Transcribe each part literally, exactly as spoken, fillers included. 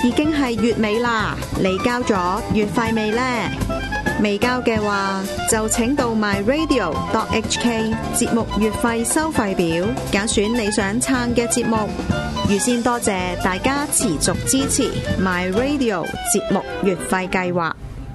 已經係月尾啦，你交咗月費未呢？未交嘅話，就請到 my radio dot h k 節目月費收費表，揀選你想撐嘅節目。預先多謝大家持續支持 my radio 節目月費計劃。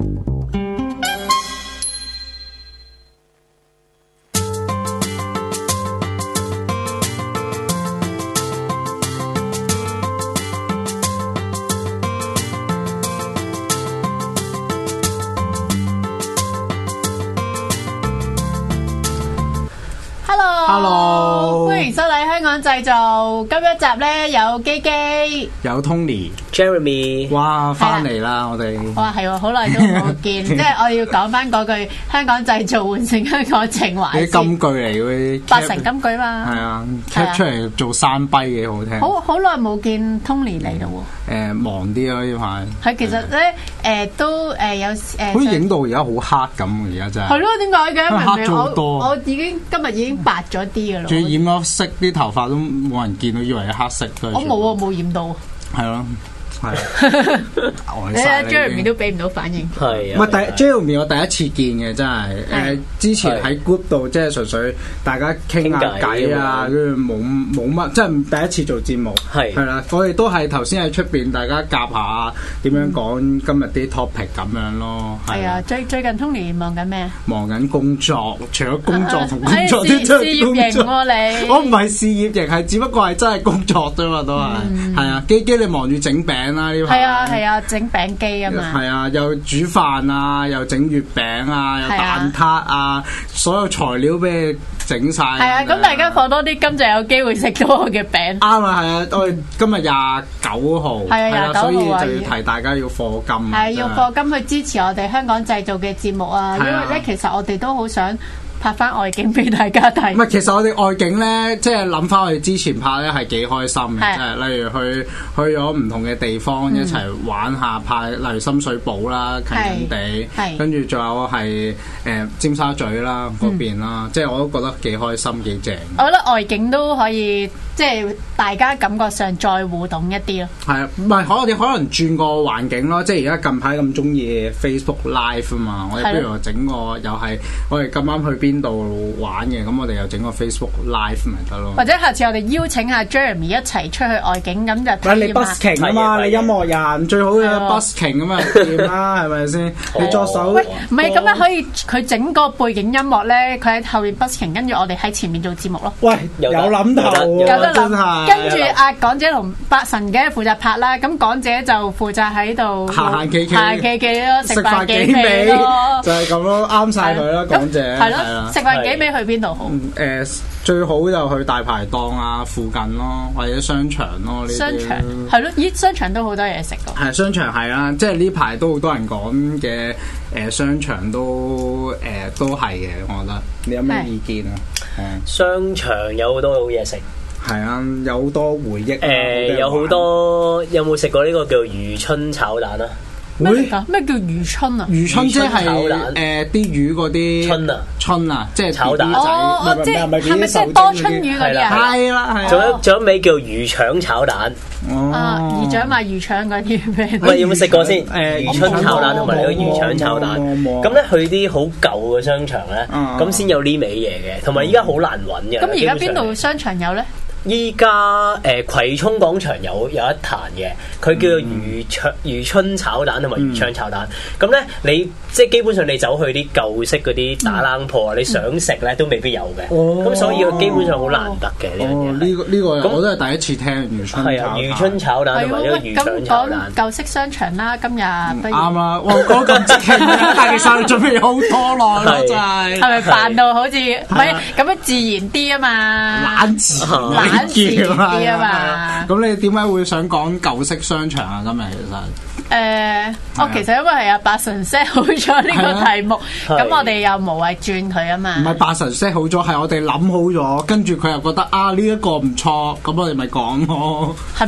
Hello， 歡迎收睇香港製造。今一集咧有基基， 有 Tony、Jeremy， 哇， 翻嚟啦！我哋哇係喎，好耐都冇見，即係我要講翻嗰句香港製造換成香港情懷先。 啲金句嚟嗰啲， 八成金句嘛。 係啊 ，cap 出嚟做山跛幾好聽。 好好耐冇見 Tony 嚟咯喎。 誒，忙啲咯呢排。 係其實咧，誒都誒有誒。 好似影到而家好黑咁，而家真係。 係咯，點解嘅？ 黑咗好多。 我已經今日已經白咗啲㗎啦。 仲要染咗色，啲頭髮都冇人見到，以為係黑色。 我冇啊，冇染到。 係咯。係， 你睇 Jeremy 都俾唔到反應。 係啊， 唔係第 Jeremy 我第一次見嘅，真係誒之前喺 group 度即係純粹大家傾下偈啊，跟住冇冇乜，即係第一次做節目。係係啦，我哋都係頭先喺出邊大家夾下點樣講今日啲 topic 咁樣咯。 係啊，最最近 Tony 忙緊咩？ 忙緊工作，除咗工作同工作啲事業型喎你。 我唔係事業型，係只不過係真係工作啫嘛，都係係啊。基基你忙住整餅。 係啊係啊，整餅機啊嘛。 係啊，又煮飯啊，又整月餅啊，又蛋撻啊，所有材料俾你整晒。係啊，咁大家放多啲金就有機會食到我嘅餅。 啱啊，係啊，我哋今日廿九號， 係啊廿九號， 所以就要提大家要課金。 係要課金去支持我哋香港製造嘅節目啊，因為咧其實我哋都好想拍翻外景俾大家睇。 唔係，其實我哋外景咧，即係諗翻我哋之前拍咧係幾開心嘅，即係例如去去咗唔同嘅地方、嗯、一齊玩下拍，例如深水埗啦、近近地，跟住仲有係誒、呃、尖沙咀啦嗰邊啦，嗯、即係我都覺得幾開心幾正。 我覺得外景都可以，即係大家感覺上再互動一啲咯。 係啊，唔係可我哋可能轉個環境咯，即係而家近排咁中意 Facebook Live 啊嘛，我哋不如整個又係我哋咁啱去邊邊度玩嘅，咁我哋又整個 Facebook Live 咪得咯。 或者下次我哋邀請下 Jeremy 一齊出去外景，咁就睇你 busking 啊嘛，你音樂人最好嘅 busking 咁啊掂啦，係咪先？你作手喂，唔係咁樣可以佢整個背景音樂咧，佢喺後面 busking， 跟住我哋喺前面做節目咯。 喂，有諗頭， 有得諗。 跟住阿港姐同八神嘅負責拍啦，咁港姐就負責喺度行行企企， 行企企咯，食飯幾味咯， 就係咁咯，啱晒佢啦，港姐。 係咯。食飯幾味去邊度好？誒、 呃，最好就去大排檔啊，附近咯，或者商場咯。呢啲商場係咯，咦？商場都好多嘢食㗎。 係商場係啦，即係呢排都好多人講嘅誒，商場都誒、呃、都係嘅，我覺得。你有咩意見啊？ 係商場有好多好嘢食。 係啊，有好多回憶。誒、 呃，有好多有冇食過呢個叫漁春炒蛋啊？ 咩㗎？咩叫漁春啊？ 漁春即係誒啲魚嗰啲春啊， 春啊，即係炒蛋。 哦哦，即係係咪即係多春魚嗰啲啊？ 係啦，係。 仲有仲有一味叫魚腸炒蛋。 啊，魚腸賣魚腸嗰啲咩？ 唔係有冇食過先？誒，漁春炒蛋同埋呢個魚腸炒蛋。咁咧去啲好舊嘅商場咧，咁先有呢味嘢嘅，同埋依家好難揾嘅。 咁而家邊度商場有咧？ 依家誒葵涌廣場有有一壇嘅，佢叫做漁腸漁春炒蛋同埋魚腸炒蛋。咁咧、嗯，你即係基本上你走去啲舊式嗰啲打冷鋪，嗯、你想食咧都未必有嘅。咁、哦、所以佢基本上好難得嘅呢樣嘢。呢、 呢個呢、呢個我都係第一次聽漁春炒蛋。係啊， 漁春炒蛋同埋呢個魚腸炒蛋。 咁講舊式商場啦，今日啱啦。我講咁即興，但其實你準備好多耐咯，真係。 係咪扮到好似唔係咁樣自然啲啊嘛？ 懶自然。 懶啲啊嘛， 咁你點解會想講舊式商場啊？今日其實誒，我其實因為係阿八神 set 好咗呢個題目，咁我哋又無謂轉佢啊嘛。唔係八神 set 好咗，係我哋諗好咗，跟住佢又覺得啊呢一個唔錯，咁我哋咪講咯。 係咩？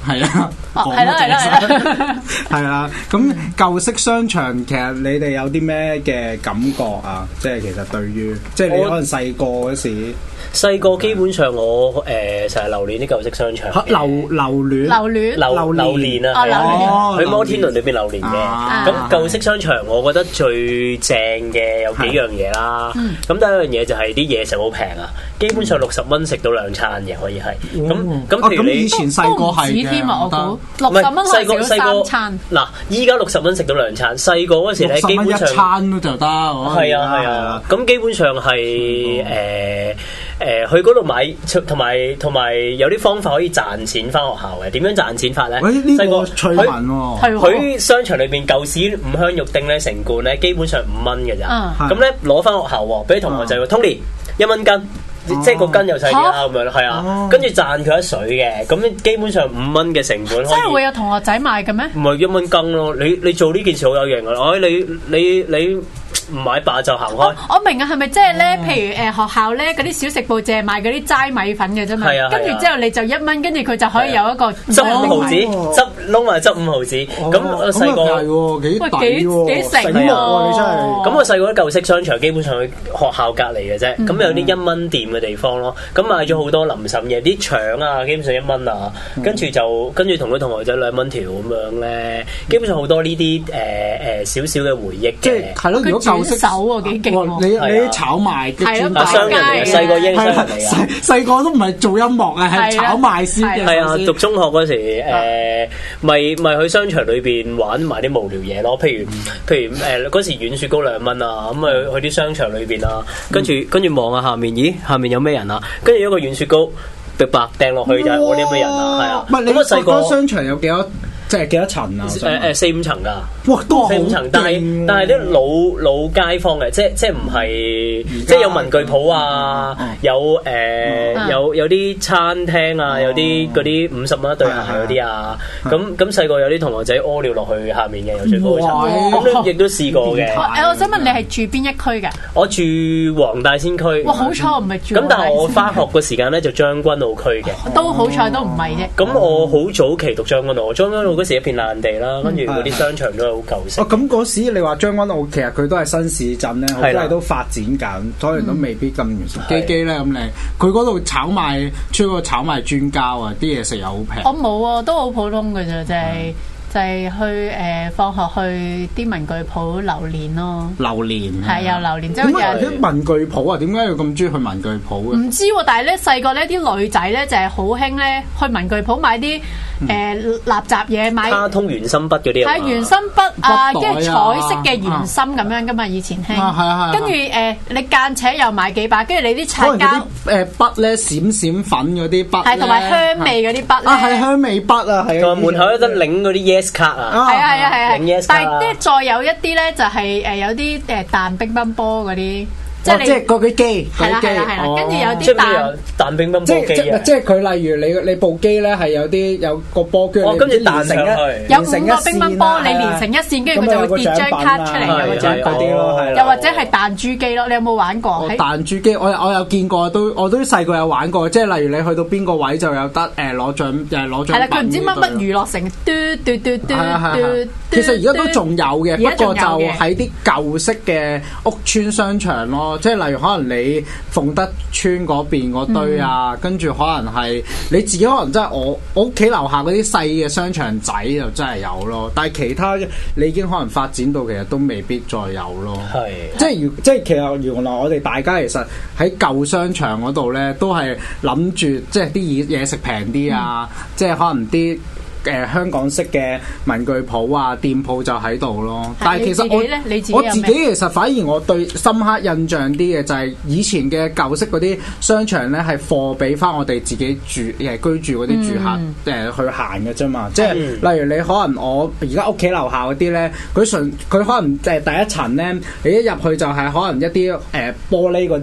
係啊， 係啦係啦係啦， 係啦。咁舊式商場其實你哋有啲咩嘅感覺啊？即係其實對於即係你可能細個嗰時， 細個基本上我誒成日留戀啲舊式商場， 留留戀留戀榴榴蓮啊， 哦榴蓮喺摩天輪裏邊榴蓮嘅。咁舊式商場我覺得最正嘅有幾樣嘢啦。咁第一樣嘢就係啲嘢食好平啊，基本上六十蚊食到兩餐嘅可以係。咁咁譬如你以前細個係嘅， 添啊，我估六十蚊可以食到三餐。 嗱，依家六十蚊食到兩餐，細個嗰時咧基本上一餐都就得。 係啊係啊，咁基本上係誒。誒去嗰度買，同埋同埋有啲方法可以賺錢翻學校嘅。點樣賺錢法咧？ 細個趣聞喎， 佢商場裏邊舊時五香肉丁咧成罐咧，基本上五蚊嘅咋。咁咧攞翻學校喎，俾同學仔喎 ，Tony 一蚊斤，即係個斤又細啲啦咁樣，係啊。跟住賺佢一水嘅，咁基本上五蚊嘅成本。 真係會有同學仔買嘅咩？ 唔係一蚊斤咯，你你做呢件事好有型啊！哎，你你你。唔買罷就行開。 我我明啊，係咪即係咧？譬如誒學校咧嗰啲小食部淨係賣嗰啲齋米粉嘅啫嘛。跟住之後你就一蚊，跟住佢就可以有一個執五毫子，執撈埋執五毫子。咁我細個係喎，幾抵喎， 幾醒喎，你真係。 咁我細個啲舊式商場基本上去學校隔離嘅啫。咁有啲一蚊店嘅地方咯。咁買咗好多臨審嘢，啲腸啊，基本上一蚊啊。跟住就跟住同啲同學仔兩蚊條咁樣咧。基本上好多呢啲誒誒少少嘅回憶嘅。 即係係咯，如果舊式手喎幾勁喎！ 你你炒賣嘅專家， 商人嚟嘅，細個英商人嚟嘅。 細細個都唔係做音樂啊，係炒賣先嘅。 係啊，讀中學嗰時誒，咪咪去商場裏邊玩埋啲無聊嘢咯。譬如譬如誒嗰時軟雪糕兩蚊啊，咁啊去啲商場裏邊啊，跟住跟住望下下面，咦下面有咩人啊？跟住一個軟雪糕白白掟落去就係我啲咩人啊？係啊。 唔係你細個商場有幾多？即係幾多層啊？ 誒誒四五層㗎， 哇，都四五層，但係但係啲老老街坊嘅，即係即係唔係即係有文具鋪啊，有誒有有啲餐廳啊，有啲嗰啲五十蚊一對鞋嗰啲啊，咁咁細個有啲同學仔屙尿落去下面嘅，有最高層，咁亦都試過嘅。 誒，我想問你係住邊一區㗎？ 我住黃大仙區。 哇，好彩我唔係住。 咁但係我返學嘅時間咧就將軍澳區嘅。 都好彩都唔係啫。 咁我好早期讀將軍澳，將軍澳嗰時一片爛地啦，跟住嗰啲商場都係好舊式。 哦，咁嗰時你話將軍澳其實佢都係新市鎮咧，好多嘢都發展緊，所以都未必咁完善。基基咧咁你，佢嗰度炒賣出個炒賣專家啊，啲嘢食又好平。 我冇啊，都好普通嘅啫，就係。就係去誒放學去啲文具鋪榴蓮咯， 榴蓮係有榴蓮，即係啲文具鋪啊？點解要咁中意去文具鋪嘅？ 唔知喎，但係咧細個咧啲女仔咧就係好興咧去文具鋪買啲誒垃圾嘢，買卡通圓心筆嗰啲啊， 係圓心筆啊，跟住彩色嘅圓心咁樣噶嘛，以前興，跟住誒你間尺又買幾把，跟住你啲擦膠誒筆咧閃閃粉嗰啲筆， 係同埋香味嗰啲筆咧， 啊係香味筆啊，係同埋門口有得領嗰啲 yes 卡啊， 係啊係啊係啊， yes 但係即係再有一啲咧就係誒有啲誒彈乒乓波嗰啲。即係即係嗰啲機， 係啦係啦係啦，跟住有啲彈彈乒乓波機啊！ 即係佢例如你你部機咧係有啲有個波跟住， 跟住彈成一有五個乒乓波，你連成一線，跟住佢就會跌張卡出嚟，有個獎品咯。又或者係彈珠機咯，你有冇玩過？ 彈珠機我我有見過，都我都細個有玩過。即係例如你去到邊個位就有得誒攞獎，誒攞獎品。 係啦，佢唔知乜乜娛樂城，嘟嘟嘟嘟嘟。 其實而家都仲有嘅，不過就喺啲舊式嘅屋邨商場咯。即係例如可能你鳳德村嗰邊嗰堆啊，嗯、跟住可能係你自己可能真係我我屋企樓下嗰啲細嘅商場仔就真係有咯，但係其他你已經可能發展到其實都未必再有咯。係是，即係如即係其實原來我哋大家其實喺舊商場嗰度咧，都係諗住即係啲嘢食平啲啊，嗯、即係可能啲。誒、呃、香港式嘅文具鋪啊，店鋪就喺度咯。但係其實我自我自己其實反而我對深刻印象啲嘅就係以前嘅舊式嗰啲商場咧，係貨俾翻我哋自己住誒居住嗰啲住客誒、嗯呃、去行嘅啫嘛。即係、嗯、例如你可能我而家屋企樓下嗰啲咧，佢純佢可能誒第一層咧，你一入去就係可能一啲誒、呃、玻璃嗰啲。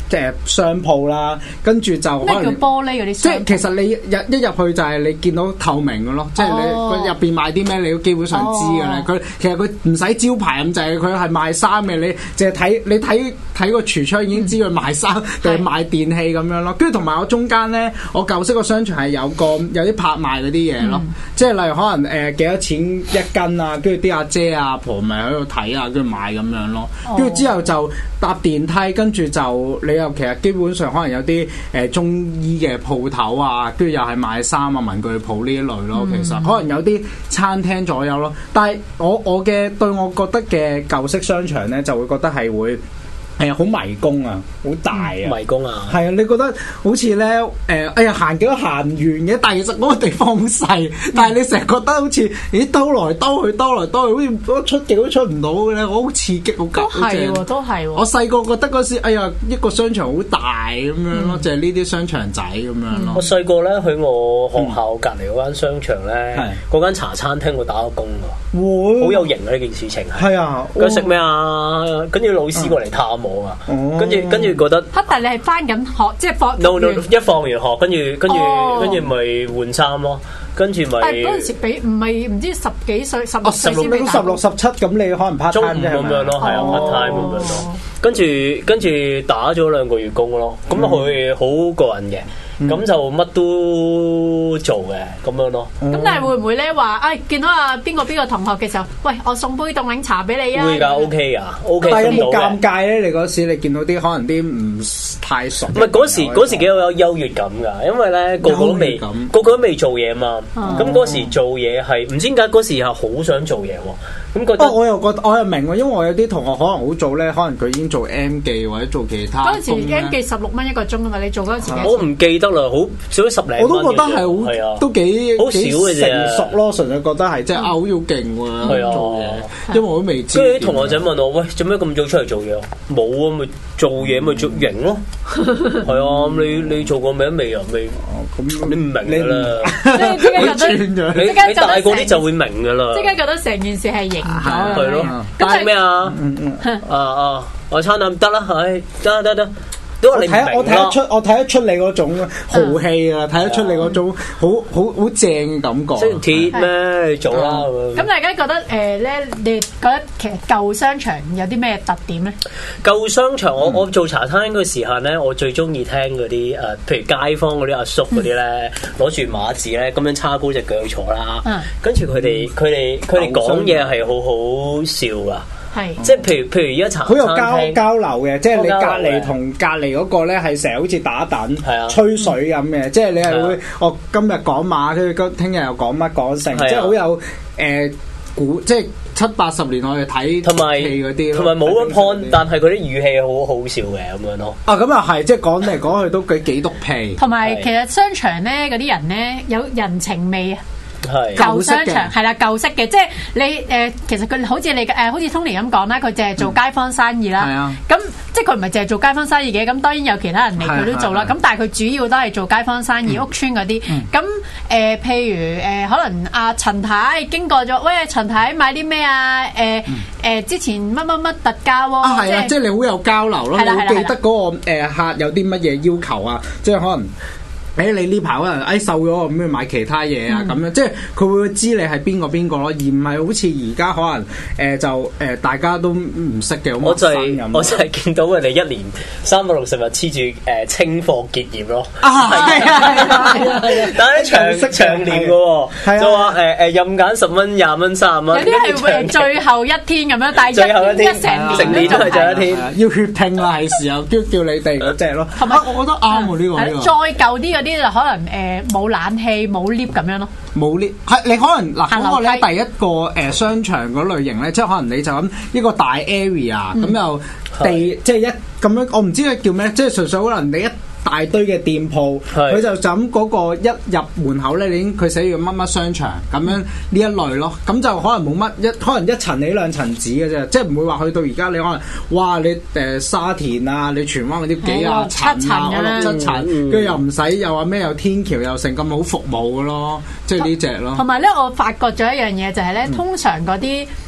即係商鋪啦，跟住就可能咩叫玻璃嗰啲？ 即係其實你入一入去就係你見到透明嘅咯，即係你佢入邊賣啲咩你都基本上知嘅咧。佢、哦、其實佢唔使招牌咁滯，佢係賣衫嘅，你淨係睇你睇睇個櫥窗已經知佢賣衫定係賣電器咁樣咯。跟住同埋我中間咧，我舊式個商場係有個有啲拍賣嗰啲嘢咯，嗯、即係例如可能誒幾、呃、多錢一斤啊，跟住啲阿姐阿婆咪喺度睇啊，跟住買咁樣咯。跟住之後就搭電梯，跟住就你又其實基本上可能有啲誒、呃、中醫嘅鋪頭啊，跟住又係賣衫啊、文具鋪呢一類咯。其實、嗯、可能有啲餐廳左右咯。但係我我嘅對我覺得嘅舊式商場咧，就會覺得係會。係啊，好迷宮啊，好大啊， 迷宮啊， 係啊，你覺得好似咧誒，哎呀行幾多行完嘅，但係其實嗰個地方好細，嗯、但係你成日覺得好似咦兜來兜去，兜來兜去，好似出極都出唔到嘅咧，我好刺激，好夾， 都係喎，都係喎。 我細個覺得嗰時，哎呀，一個商場好大咁樣咯，就係呢啲商場仔咁樣咯。 我細個咧去我學校隔離嗰間商場咧，嗰間茶餐廳我打過工㗎，好有型啊！呢件事情係。係啊，佢食咩啊？跟住老師過嚟探我啊，跟住跟住覺得。 嚇！但係你係翻緊學，即係放。 no no，一放完學，跟住跟住跟住咪換衫咯，跟住咪。但係嗰陣時俾唔係唔知十幾歲、十六歲先俾打。 十六十七咁，你可能 part time 啫咁樣咯，係啊 part time 咁樣咯。跟住跟住打咗兩個月工咯，咁佢好過癮嘅。咁、嗯、就乜都做嘅咁樣咯。咁、 嗯、但係會唔會咧話，哎見到啊邊個邊個同學嘅時候，喂我送杯凍檸茶俾你啊？ 會㗎 ，OK 㗎 ，OK。 但係有冇尷尬咧？你嗰時你見到啲可能啲唔太熟。唔係嗰時嗰時幾有優越感㗎，因為咧個個都未個個都未做嘢嘛。咁嗰、嗯、時做嘢係唔知點解嗰時係好想做嘢喎。咁覺得、哦、 我又覺得我又明喎，因為我有啲同學可能好早咧，可能佢已經做 M 記或者做其他。 嗰陣時 M 記十六蚊一個鐘啊嘛，你做嗰陣時幾？ 我唔記得。得啦，好少咗十零蚊， 我都覺得係好，係啊，都幾好少嘅啫， 成熟咯，純粹覺得係即係啊，好要勁喎， 係啊， 做嘢，因為我都未知。 跟住啲同學仔問我：喂，做咩咁早出嚟做嘢？冇啊，咪做嘢咪做型咯。係啊，你你做過未？未啊，未。咁你唔明㗎啦， 即係即刻覺得， 你你大個啲就會明㗎啦。 即刻覺得成件事係型咗， 係咯。咁係咩啊？啊啊！我餐飲得啦，唉，得得得。 我睇我睇得出，我睇得出你嗰種豪氣啊！睇得出你嗰種好好好正嘅感覺。 識鐵咩？做啦咁。大家覺得誒咧？你覺得其實舊商場有啲咩特點咧？ 舊商場，我我做茶餐廳嘅時間咧，我最中意聽嗰啲誒，譬如街坊嗰啲阿叔嗰啲咧，攞住馬字咧，咁樣叉高隻腳坐啦。跟住佢哋佢哋佢哋講嘢係好好笑噶。係，即係譬如譬如而家茶餐廳好有交交流嘅，即係你隔離同隔離嗰個咧係成日好似打躉、吹水咁嘅，即係你係會我今日講馬，跟住聽日又講乜講成，即係好有誒古，即係七八十年我哋睇戲嗰啲， 同埋冇乜 point，但係嗰啲語氣好好笑嘅咁樣咯。 啊，咁又係，即係講嚟講去都幾幾篤屁。 同埋其實商場咧嗰啲人咧有人情味啊。 係舊商場係啦，舊式嘅，即係你誒、呃，其實佢好似你誒、呃，好似 Tony 咁講啦，佢淨係做街坊生意啦。係啊、嗯，咁即係佢唔係淨係做街坊生意嘅，咁當然有其他人嚟佢都做啦。咁但係佢主要都係做街坊生意、嗯、屋邨嗰啲。咁誒、呃，譬如誒、呃，可能阿陳太經過咗，喂，陳太買啲咩啊？誒、呃、誒、呃，之前乜乜乜特價喎。啊， 係啊，即係你好有交流咯，你會記得嗰個誒客有啲乜嘢要求啊？即係可能。誒你呢排可能誒瘦咗咁樣買其他嘢啊咁樣，即係佢會知你係邊個邊個咯，而唔係好似而家可能誒、呃、就誒、呃、大家都唔識嘅。 我就係、是、我就係見到佢哋一年三百六十日黐住誒清貨結業咯。啊係啊係啊係啊！但係長長年嘅喎，就話誒誒任揀十蚊、廿蚊、三十蚊。 有啲係最後一天咁樣，但係最後一天一成年成年都係最後一天， 要血拼啦係時候，叫叫你哋嗰隻咯。同埋我覺得啱喎呢個呢個。 再舊啲嗰啲就可能誒冇冷氣冇 lift 咁樣咯， 冇 lift 係你可能嗱嗰個咧第一個誒商場嗰類型咧，即係可能你就咁一個大 area 咁又地即係一咁樣，我唔知佢叫咩，即係純粹可能你一大堆嘅店鋪，佢就咁嗰個一入門口咧，你已經佢寫住乜乜商場咁樣呢一類咯，咁就可能冇乜一可能一層你兩層紙嘅啫，即係唔會話去到而家你可能哇你誒沙田啊，你荃灣嗰啲幾廿層啊，我六七層，跟住又唔使又話咩有天橋又成咁好服務嘅咯，即係呢隻咯。 同埋咧，我發覺咗一樣嘢就係咧，通常嗰啲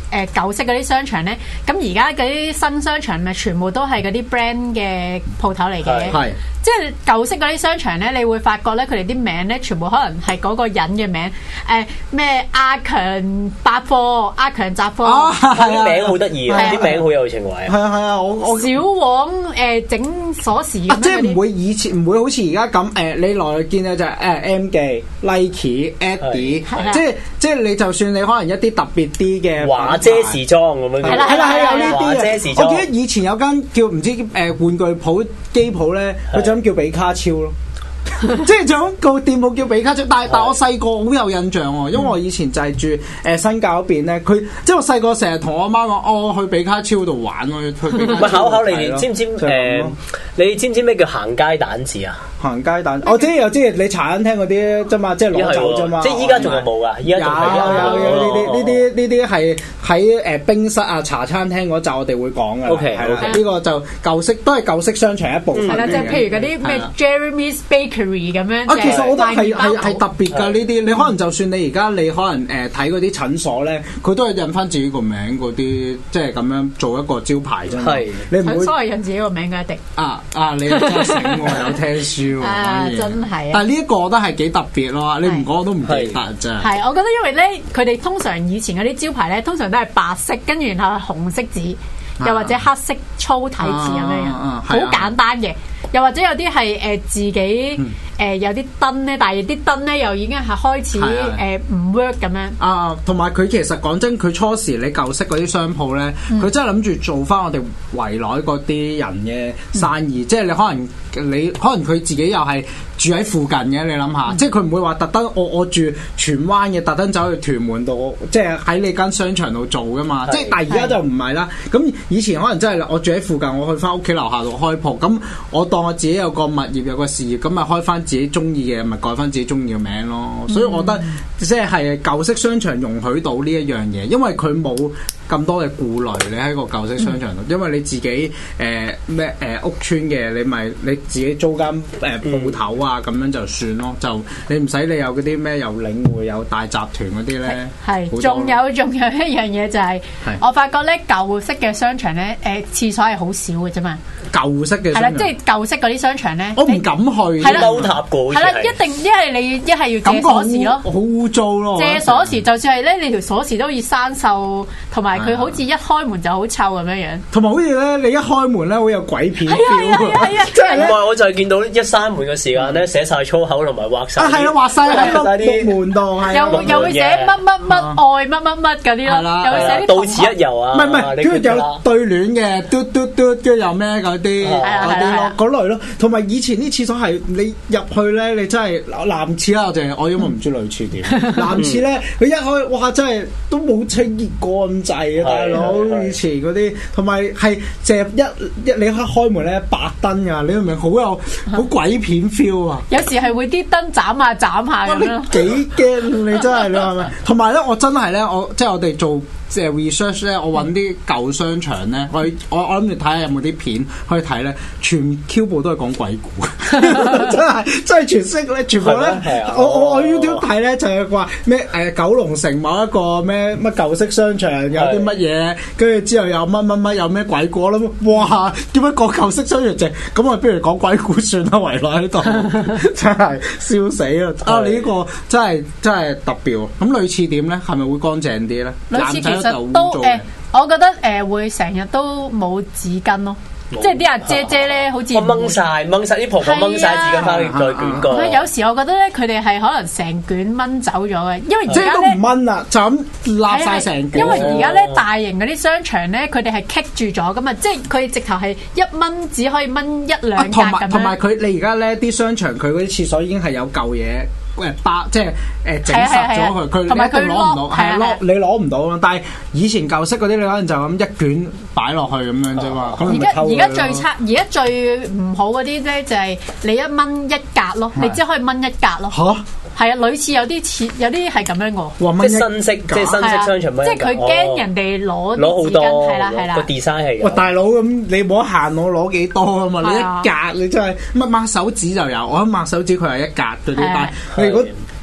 誒舊式嗰啲商場咧，咁而家嗰啲新商場咪全部都係嗰啲 brand 嘅鋪頭嚟嘅。係。即係舊式嗰啲商場咧，你會發覺咧，佢哋啲名咧，全部可能係嗰個人嘅名，誒咩阿強百貨、阿強雜貨， 啲名好得意啊！啲名好有情懷。 係啊係啊，我我小黃誒整鎖匙咁樣。 即係唔會以前唔會好似而家咁誒，你來見到就係誒 M 記、Nike、Adidas，即係即係你就算你可能一啲特別啲嘅華姐時裝咁樣。 係啦係啦係有呢啲嘅。我記得以前有間叫唔知誒玩具鋪機鋪咧，佢就咁叫比卡超咯。即係就咁個店鋪叫比卡超，但係但我細個好有印象喎，因為我以前就係住誒新界嗰邊咧，佢即係我細個成日同我阿媽講，哦去比卡超度玩咯，去比卡超。 唔係考考你哋知唔知誒？你知唔知咩叫行街蛋字啊？ 行街蛋，我知又知，你茶餐廳嗰啲啫嘛，即係攞走啫嘛。 即係依家仲有冇㗎？依家仲有有有呢啲呢啲呢啲係喺誒冰室啊茶餐廳嗰集我哋會講㗎。 OK OK， 呢個就舊式都係舊式商場一部分。 係啦，即係譬如嗰啲咩 Jeremy's Bakery 咁樣。 啊，其實我覺得係係係特別㗎呢啲，你可能就算你而家你可能誒睇嗰啲診所咧，佢都係印翻自己個名嗰啲，即係咁樣做一個招牌啫嘛。係，你唔會。診所係印自己個名㗎一定。啊啊！你真係醒喎，有聽書。 啊！真係啊！ 但係呢一個我覺得係幾特別咯，你唔講我都唔記得真係。 係，我覺得因為咧，佢哋通常以前嗰啲招牌咧，通常都係白色，跟住然後紅色字，又或者黑色粗體字咁樣樣，好簡單嘅。又或者有啲係誒自己誒、呃、有啲燈咧，但係啲燈咧又已經係開始誒唔 work 咁樣。啊， 同埋佢其實講真，佢初時你舊式嗰啲商鋪咧，佢、嗯、真係諗住做翻我哋圍內嗰啲人嘅生意，嗯、即係你可能你可能佢自己又係住喺附近嘅，你諗下，嗯、即係佢唔會話特登我我住荃灣嘅，特登走去屯門度，即係喺你間商場度做噶嘛。即係但係而家就唔係啦。咁以前可能真係我住喺附近，我去翻屋企樓下度開鋪，咁我當我自己有個物業有個事業，咁咪開翻自己中意嘅，咪改翻自己中意嘅名咯。嗯、所以我覺得即係舊式商場容許到呢一樣嘢，因為佢冇咁多嘅顧慮。你喺個舊式商場度，嗯、因為你自己誒咩誒屋邨嘅，你咪你自己租間誒鋪頭啊，咁、嗯、樣就算咯。就你唔使你有嗰啲咩有領匯有大集團嗰啲咧。係， 仲有仲有一樣嘢就係、是，我發覺咧舊式嘅商場咧，誒、呃、廁所係好少嘅啫嘛。 舊式嘅係啦，即係舊式嗰啲商場咧， 我唔敢去。 係啦， 踎塔過。 係啦，一定一係你一係要借鎖匙咯， 好污糟咯。 借鎖匙，就算係咧，你條鎖匙都要生鏽，同埋佢好似一開門就好臭咁樣樣。同埋好似咧，你一開門咧，好有鬼片 feel。 係啊係啊， 即係唔係？我就係見到一閂門嘅時間咧，寫晒粗口同埋畫晒。 啊係啊，畫晒喺個木門度， 又又會寫乜乜乜愛乜乜乜嗰啲咯，又會寫啲到此一遊啊。 唔係唔係，跟住有對聯嘅，嘟嘟嘟，跟住有咩嗰啲。嗰類咯，同埋以前啲廁所係你入去咧，你真係男廁啦，我淨係我因為唔知女廁點。男廁咧，佢一開哇，真係都冇清潔過咁滯啊，大佬！以前嗰啲，同埋係淨係一一你一開門咧白燈㗎，你明唔明？好有好鬼片 feel 啊！ 有時係會啲燈斬下斬下咁樣。 幾驚你真係你係咪？同埋咧，我真係咧，我即係我哋做。即係 research 咧，我揾啲舊商場咧，我我我諗住睇下有冇啲片可以睇咧，全 Q 部都係講鬼故，真係真係全識咧，全部咧，我我我 YouTube 睇咧就係話咩誒九龍城某一個咩乜舊式商場有啲乜嘢，跟住之後有乜乜乜有咩鬼故，我諗哇點解個舊式商場淨咁我不如講鬼故算啦，圍內喺度真係笑死啦！啊你呢個真係真係特別喎，咁女廁點咧？係咪會乾淨啲咧？ 女廁其實都誒、呃，我覺得誒、呃、會成日都冇紙巾咯，即係啲阿姐姐咧，好似我掹晒掹晒啲婆婆掹晒紙巾翻嚟再捲過。 佢有時我覺得咧，佢哋係可能成卷掹走咗嘅，因為而家都唔掹啦，就咁揦晒成卷。 因為而家咧大型嗰啲商場咧，佢哋係棘住咗噶嘛，即係佢直頭係一掹只可以掹一兩格咁樣。 同埋佢你而家咧啲商場佢嗰啲廁所已經係有舊嘢。誒包即係誒整實咗佢，佢一定攞唔到，係攞你攞唔到咯。但係以前舊式嗰啲，你可能就咁一卷擺落去咁樣啫嘛。 而家而家最差，而家最唔好嗰啲咧就係你一掹一格咯，你只可以掹一格咯。嚇！係啊，類似有啲似有啲係咁樣嘅。 即係新式，即係新式商場蚊。 即係佢驚人哋攞攞好多， 係啦係啦。 個 design 係。 喂，大佬咁你冇得限我攞幾多啊嘛？你一格你真係乜抹手指就有，我一抹手指佢係一格嗰啲，但係如果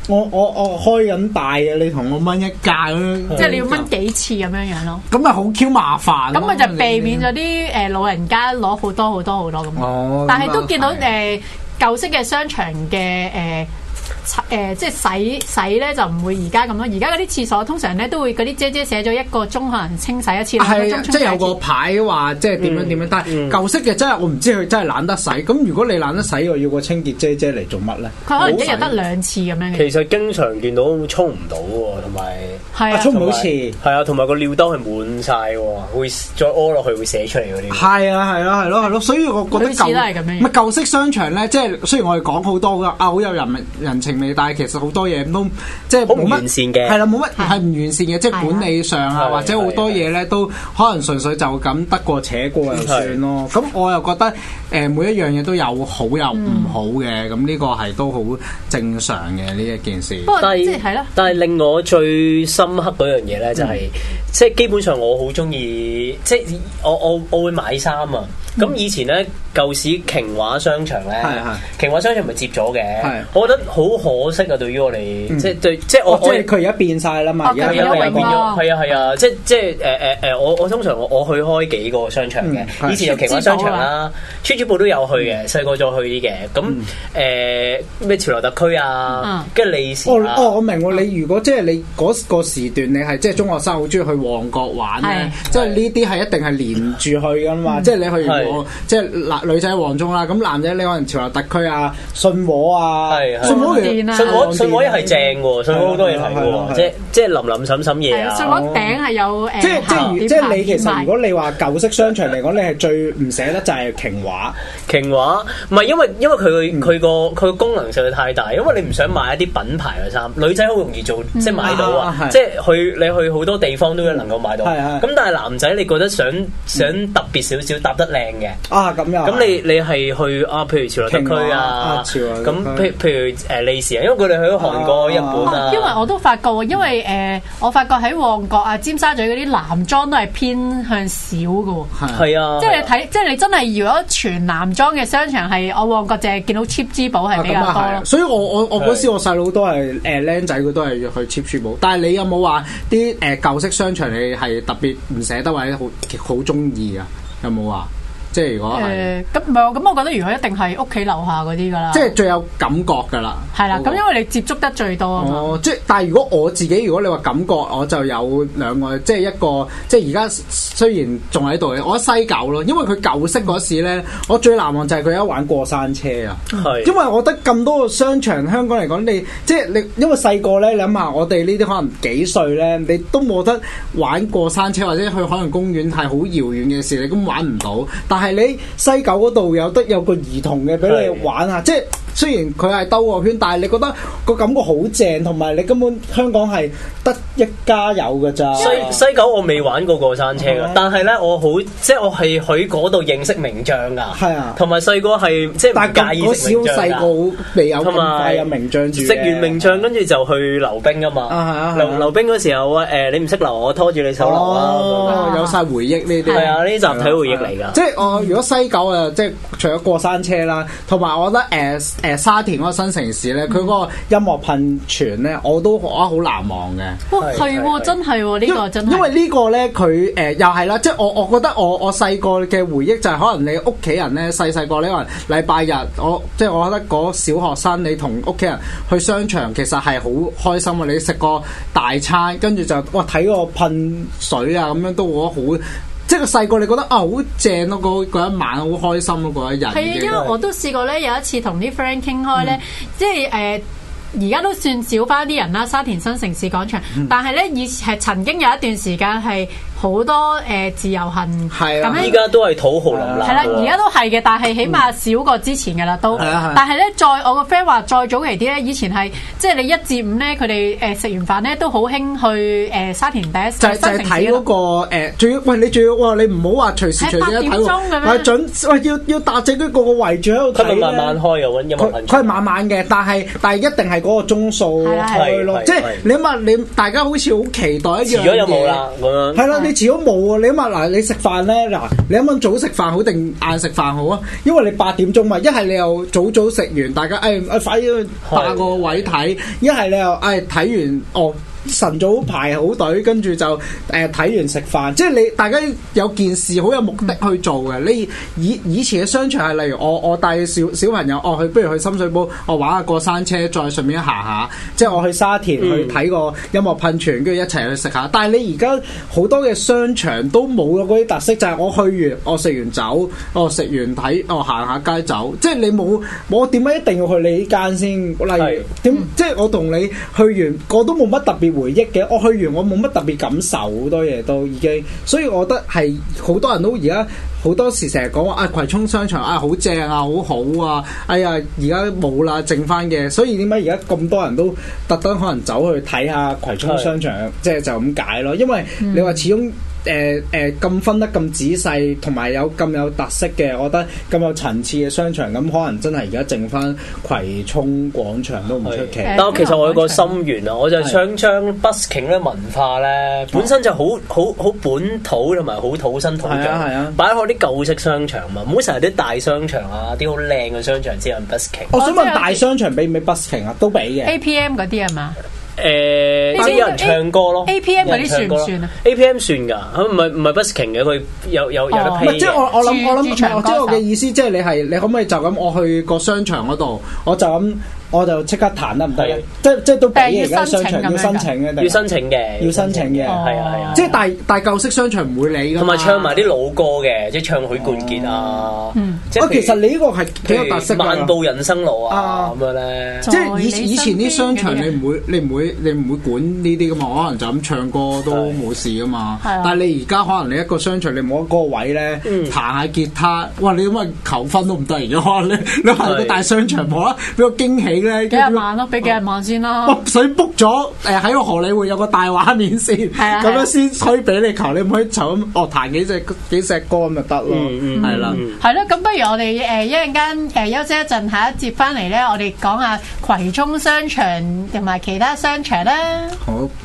我我我開緊大嘅，你同我掹一架咁樣， 即係你要掹幾次咁樣樣咯。 咁咪好 Q 麻煩。 咁咪就避免咗啲誒老人家攞好多好多好多咁。 哦， 但係都見到誒、呃、舊式嘅商場嘅誒。呃誒、呃、即係洗洗咧就唔會而家咁咯，而家嗰啲廁所通常咧都會嗰啲姐姐寫咗一個鐘可能清洗一次，兩個鐘清洗一次。 即係有個牌話即係點樣點樣，嗯、但係舊式嘅真係我唔知佢真係懶得洗。咁如果你懶得洗，我要個清潔姐姐嚟做乜咧？佢可能一日得兩次咁樣嘅。 其實經常見到沖唔到喎，同埋係啊， 沖唔到次。係啊，同埋個尿兜係滿晒喎，會再屙落去會寫出嚟嗰啲。 係啊，係啊，係咯，係咯，所以我覺得舊唔係舊式商場咧，即係雖然我哋講好多㗎啊，好有人人情味，但係其實好多嘢都即係冇乜完善嘅， 係啦，冇乜係唔完善嘅，即係管理上啊，或者好多嘢咧都可能純粹就咁得過且過就算咯。咁我又覺得誒每一樣嘢都有好有唔好嘅，咁呢個係都好正常嘅呢一件事。 但係係咯，但係令我最深刻嗰樣嘢咧，就係即係基本上我好中意，即係我我我會買衫啊。咁以前咧舊時瓊華商場咧，瓊華商場咪接咗嘅，我覺得好可惜啊！對於我哋，即係對，即係我， 即係佢而家變晒啦嘛，而家變咗，係啊係啊，即係即係誒誒誒，我我通常我我去開幾個商場嘅，以前有瓊華商場啦，村主部都有去嘅，細個再去啲嘅，咁誒咩潮流特區啊，跟住利時啊， 哦我明喎，你如果即係你嗰個時段，你係即係中學生好中意去旺角玩咧，即係呢啲係一定係連住去㗎嘛，即係你去完即係嗱女仔旺中啦，咁男仔你可能潮流特區啊、信和啊、 信和信和信和一係正喎，信和好多嘢睇喎，即係即係林林沈沈嘢啊。 信和頂係有誒， 即係即係即係你其實如果你話舊式商場嚟講，你係最唔捨得就係瓊華。 瓊華唔係因為因為佢佢個佢個功能實在太大，因為你唔想買一啲品牌嘅衫，女仔好容易做即係買到啊，即係去你去好多地方都能夠買到。咁但係男仔你覺得想想特別少少搭得靚嘅。 啊咁樣， 咁你你係去啊？譬如潮流特區啊，咁譬譬如誒利時啊，因為佢哋去咗韓國、日本啊。 因為我都發覺喎，因為誒我發覺喺旺角啊、尖沙咀嗰啲男裝都係偏向少嘅喎。 係啊， 即係你睇，即係你真係如果全男裝嘅商場係我旺角淨係見到 cheap 珠寶係比較多咯。 所以我我我嗰時我細佬都係誒僆仔，佢都係去 cheap 珠寶。但係你有冇話啲誒舊式商場你係特別唔捨得或者好好中意啊？有冇話？即係如果係咁唔係咁，我覺得如果一定係屋企樓下嗰啲㗎啦， 即係最有感覺㗎啦。 係啦，咁因為你接觸得最多啊嘛。 哦，即係但係如果我自己，如果你話感覺，我就有兩個，即係一個即係而家雖然仲喺度嘅，我覺得西九咯，因為佢舊式嗰時咧，我最難忘就係佢有一玩過山車啊。係，因為我覺得咁多個商場，香港嚟講，你即係你因為細個咧，你諗下我哋呢啲可能幾歲咧，你都冇得玩過山車，或者去海洋公園係好遙遠嘅事，你根本玩唔到。但係你西九嗰度有得有個兒童嘅俾你玩啊！即係雖然佢係兜個圈，但係你覺得個感覺好正，同埋你根本香港係得一家有㗎咋。 西西九我未玩過過山車㗎，但係咧我好即係我係去嗰度認識名將㗎。係啊，同埋細個係即係唔介意食名將㗎。 細個未有咁快有名將住。 食完名將跟住就去溜冰㗎嘛。溜溜冰嗰時候誒，你唔識溜，我拖住你手溜啊！ 有晒回憶呢啲。 係啊，呢啲集體回憶嚟㗎。 即係我如果西九啊，即係除咗過山車啦，同埋我覺得誒誒沙田嗰個新城市咧，佢嗰個音樂噴泉咧，我都覺得好難忘嘅。 哇，係喎，真係喎，呢個真係。 因為呢個咧，佢誒又係啦，即係我我覺得我我細個嘅回憶就係可能你屋企人咧細細個呢可能禮拜日，我即係我覺得嗰小學生你同屋企人去商場其實係好開心啊！你食個大餐，跟住就哇睇個噴水啊咁樣都覺得好。即係個細個，你覺得啊好正咯！嗰嗰一晚好開心咯，嗰一日。係啊， 因為我都試過咧，有一次同啲 friend 傾開咧，即係誒，而家都算少翻啲人啦，沙田新城市廣場。嗯、但係咧，以前係曾經有一段時間係好多誒、呃、自由行， 係啊， 咁依家都係土豪林立。 係啦，而家都係嘅，但係起碼少過之前嘅啦，都。嗯、但係咧，再我個 friend 話再早期啲咧，以前係即係你一至五咧，佢哋誒食完飯咧都好興去誒、呃、沙田第一就就係睇嗰個誒，仲、呃、要喂你仲要哇你唔好話隨時隨地睇喎，喂準喂要要搭正佢個個圍住喺度睇咧。 佢慢慢開又揾音樂噴泉。 佢係慢慢嘅，但係但係一定係嗰個鐘數開咯，即係你諗下你大家好似好期待一樣嘢。 遲咗有冇啦咁樣。 係啦。 你始終冇啊！你諗下嗱，你食飯咧嗱，你諗諗早食飯好定晏食飯好啊？因為你八點鐘嘛，一係你又早早食完，大家誒誒快啲去霸個位睇；一係你又誒睇完哦。晨早排好隊，跟住就誒睇、呃、完食飯，即係你大家有件事好有目的去做嘅。你以以前嘅商場係例如我我帶小小朋友，哦去不如去深水埗，我玩下過山車，再順便行下，即係我去沙田去睇個音樂噴泉，跟住一齊去食下。但係你而家好多嘅商場都冇咗嗰啲特色，就係、是、我去完，我食完走，我食完睇，我行下街走，即係你冇我點解一定要去你呢間先？例如點，即係我同你去完，我都冇乜特別回憶嘅，我去完我冇乜特別感受，好多嘢都已經，所以我覺得係好多人都而家好多時成日講話啊葵涌商場啊好正啊好好啊，哎呀而家冇啦剩翻嘅，所以點解而家咁多人都特登可能走去睇下葵涌商場，即係就咁解咯，因為你話始終。誒誒咁分得咁仔細，同埋有咁有特色嘅，我覺得咁有層次嘅商場，咁可能真係而家剩翻葵涌廣場都唔出奇。 但係其實我有個心願啊，我就想將 busking 咧文化咧本身就好好好本土同埋好土生土長，擺喺啲舊式商場嘛，唔好成日啲大商場啊，啲好靚嘅商場先有 busking。 我想問大商場俾唔俾 busking 啊？都俾嘅。 A P M 嗰啲係嘛？ 誒，即係有人唱歌咯。 A P M 嗰啲算唔算啊 ？A P M 算㗎，唔係唔係 busking 嘅，佢有有有得 pay 嘅。 即係我我諗我諗，即係我嘅意思，即係你係你可唔可以就咁我去個商場嗰度，我就咁。我就即刻彈得唔得？即即都俾而家商場要申請嘅， 要申請嘅， 要申請嘅， 係啊係啊。 即係大大舊式商場唔會理㗎。同埋唱埋啲老歌嘅，即係唱許冠傑啊。即係其實你呢個係幾有特色㗎。 漫步人生路啊咁樣咧。 即係以以前啲商場你唔會你唔會你唔會管呢啲㗎嘛？可能就咁唱歌都冇事㗎嘛。但係你而家可能你一個商場你冇一個位咧，彈下吉他，哇！你咁啊求婚都唔得而家，你你行個大商場冇啦，俾個驚喜。 幾廿萬咯，俾幾廿萬先啦。 哦，水 book 咗，誒喺個荷里活有個大畫面先，咁樣先可以俾你求，你唔可以就咁哦彈幾隻幾隻歌咁就得咯，係啦。 係咯，咁不如我哋誒一陣間誒休息一陣，下一節翻嚟咧，我哋講下葵涌商場同埋其他商場啦。 好。